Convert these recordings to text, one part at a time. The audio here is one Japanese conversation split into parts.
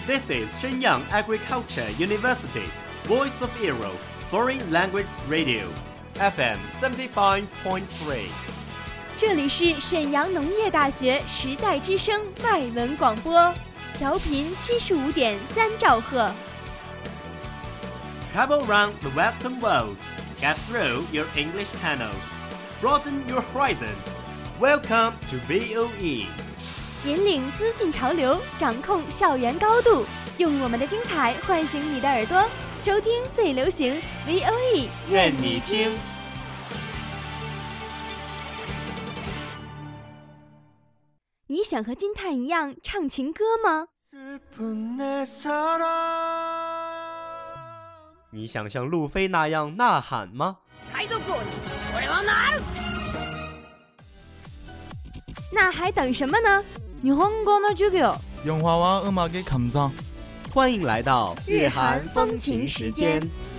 This is Shenyang Agriculture University, Voice of Europe, Foreign Language Radio, FM 75.3。 这里是沈阳农业大学时代之声外文广播，调频75.3兆赫。 Travel around the Western world, get through your English channels, broaden your horizon. Welcome to VOE. 引领资讯潮流，掌控校园高度，用我们的精彩唤醒你的耳朵，收听最流行 VOE， 愿你听。 你想和金叹一样唱情歌吗？ 你想像路飞那样呐喊吗？ 那还等什么呢？ 日本語の授業。 영화와 음악의 감상。 欢迎来到日韩风情时间。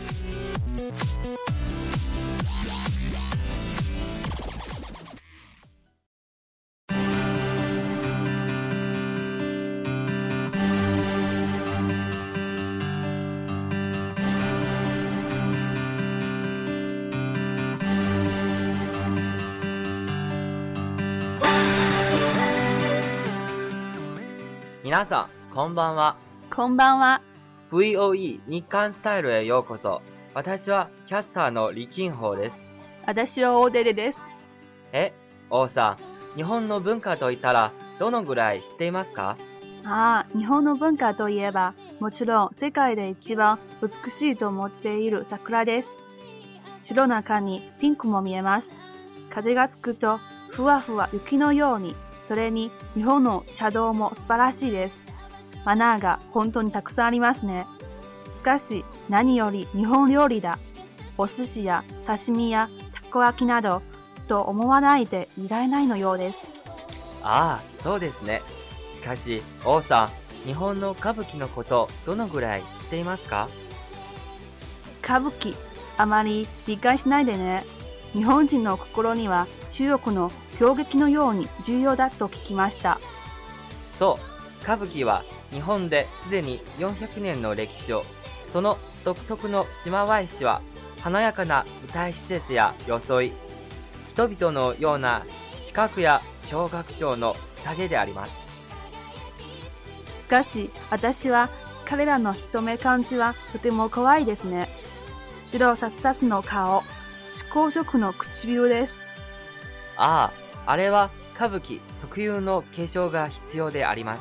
皆さん、こんばんは。 こんばんは。 VOE 日韓スタイルへようこそ。私はキャスターの李金宝です。 私は大手です。 王さん、日本の文化といったらどのぐらい知っていますか？ 日本の文化といえば、もちろん世界で一番美しいと思っている桜です。白中にピンクも見えます。風が吹くとふわふわ雪のように。それに日本の茶道も素晴らしいです。マナーが本当にたくさんありますね。しかし何より日本料理だ。お寿司や刺身やたこ焼きなどと思わないでいられないのようです。 そうですね。しかし王さん、日本の歌舞伎のことどのぐらい知っていますか？ 歌舞伎、あまり理解しないでね。日本人の心には中国の狂劇のように重要だと聞きました。 そう、歌舞伎は日本ですでに400年の歴史を、その独特の島返しは華やかな舞台施設や装い、人々のような視覚や聴覚聴の宴であります。 しかし私は彼らの人目感じはとても怖いですね。白さっさすの顔、至高色の唇です。 あれは歌舞伎特有の化粧が必要であります。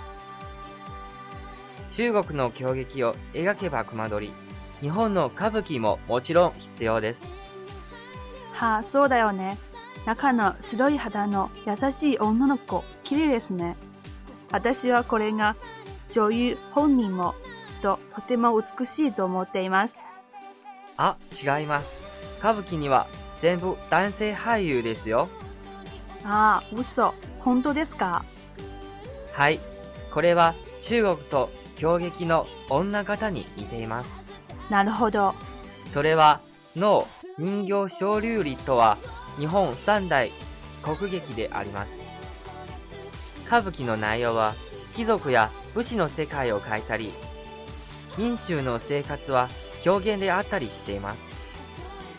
中国の狂劇を描けば熊取り、日本の歌舞伎ももちろん必要です。 そうだよね。中の白い肌の優しい女の子、綺麗ですね。私はこれが女優本人もとても美しいと思っています。 違います。歌舞伎には全部男性俳優ですよ。 嘘。本当ですか？ はい。これは中国と狂劇の女方に似ています。 なるほど。 それは能、人形昇竜里とは日本三大国劇であります。歌舞伎の内容は貴族や武士の世界を描いたり、民衆の生活は狂言であったりしています。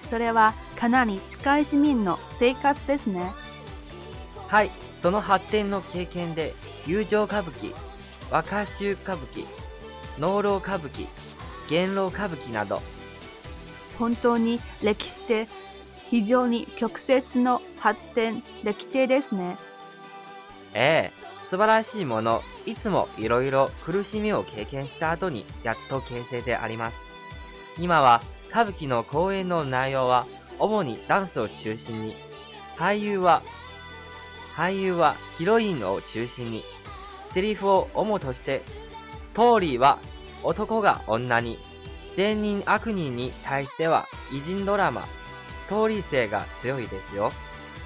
それはかなり近い市民の生活ですね。 はい、その発展の経験で友情歌舞伎、若衆歌舞伎、能郎歌舞伎、元老歌舞伎など、 本当に歴史で非常に曲折の発展歴史ですね。 素晴らしいもの、いつもいろいろ苦しみを経験した後にやっと形成であります。今は歌舞伎の公演の内容は主にダンスを中心に、俳優はヒロインを中心に、セリフを主として、ストーリーは男が女に、善人悪人に対しては偉人ドラマ、ストーリー性が強いですよ。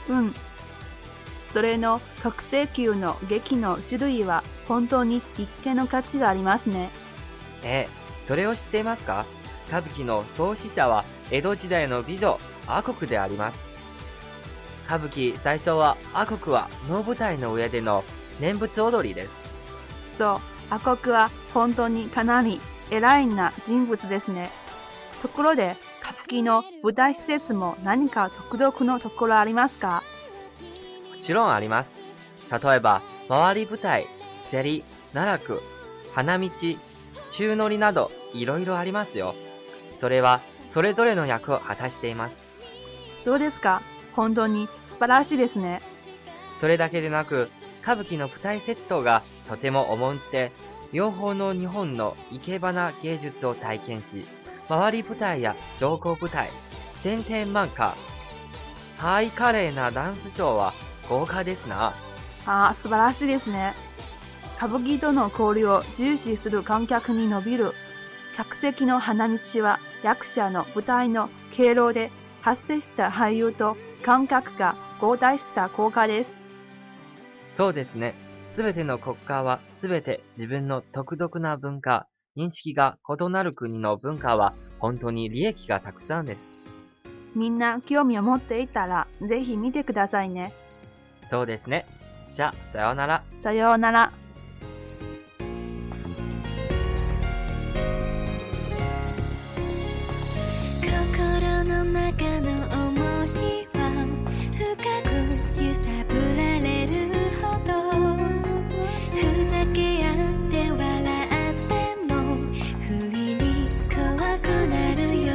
それの国際級の劇の種類は本当に一見の価値がありますね。 それを知っていますか？歌舞伎の創始者は江戸時代の美女、阿国であります。歌舞伎最初は阿国は能舞台の上での念仏踊りです。 そう、阿国は本当にかなり偉いな人物ですね。ところで、歌舞伎の舞台施設も何か独特のところありますか？ もちろんあります。例えば、回り舞台、競り、奈落、花道、宙乗りなどいろいろありますよ。それはそれぞれの役を果たしています。 そうですか。本当に素晴らしいですね。 それだけでなく、歌舞伎の舞台セットがとても重んで、両方の日本の生け花芸術を体験し、回り舞台や乗降舞台、天天満花、ハイカレーなダンスショーは豪華ですな。 ああ、素晴らしいですね。歌舞伎との交流を重視する観客に伸びる。客席の花道は役者の舞台の経路で発生した俳優と観客が合体した効果です。 そうですね。すべての国家はすべて自分の独特な文化、認識が異なる国の文化は本当に利益がたくさんです。 みんな興味を持っていたらぜひ見てくださいね。 そうですね。じゃあ、さようなら。 さようなら。 心の中の想いは深く揺さぶられるほど、ふざけ合って笑っても不意に怖くなるよ。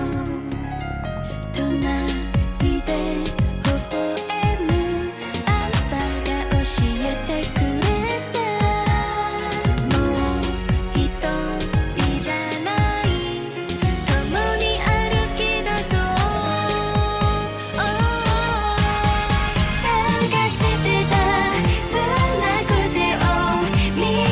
隣で微笑むあんたが教えてくれた、もう一人じゃない、共に歩き出そう。探してたつなぐ手を見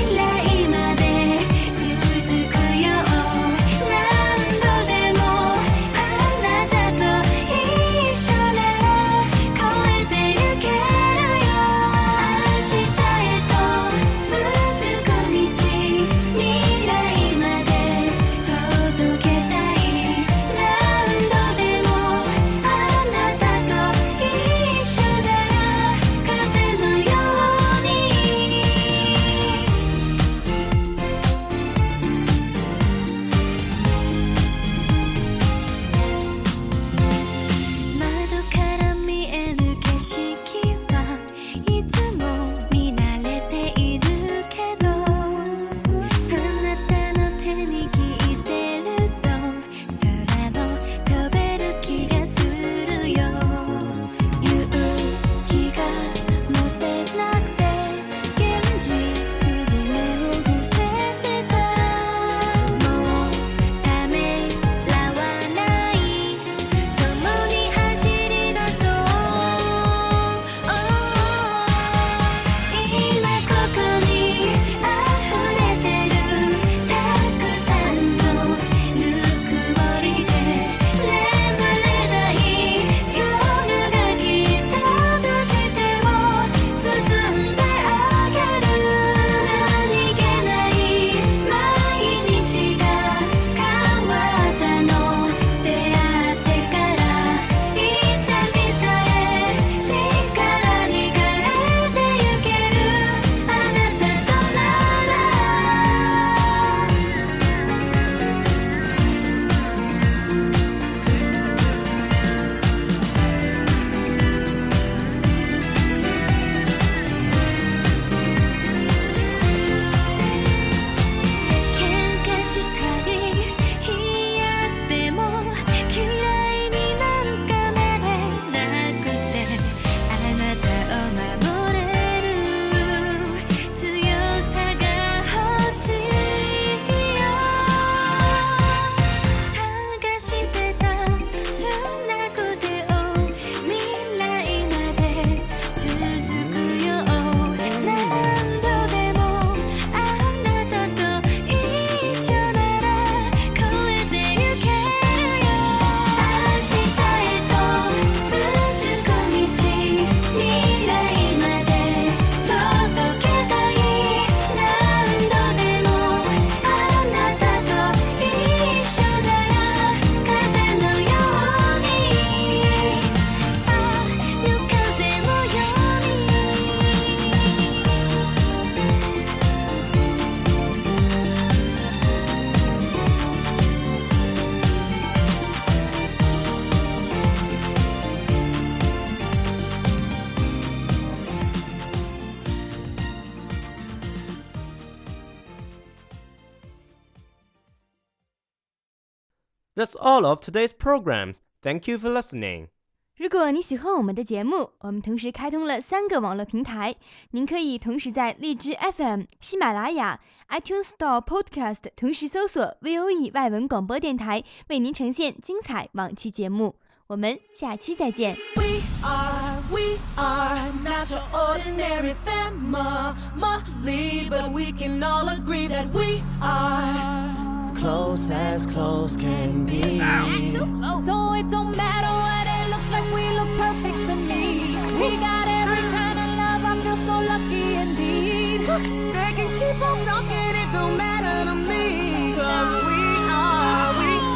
That's all of today's programs. Thank you for listening. 如果你喜欢我们的节目，我们同时开通了3个网络平台，您可以同时在荔枝 FM、喜马拉雅、iTunes Store Podcast 同时搜索 VOE 外文广播电台，为您呈现精彩往期节目。我们下期再见。 We are not your ordinary family, but we can all agree that we are close as close can be. So it don't matter what it looks like, we look perfect to me. We got every kind of love, I feel so lucky indeed. They can keep on talking, it don't matter to me, 'cause we are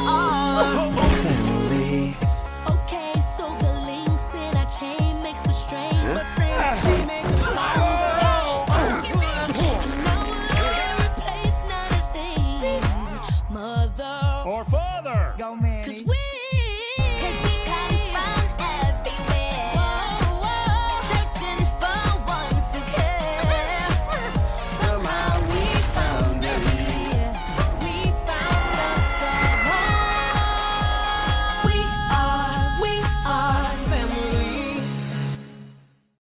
family. Okay, so the links in our chain makes the strain, but They make us strong. replace not a thing. Mother or father. Go, man. 'cause we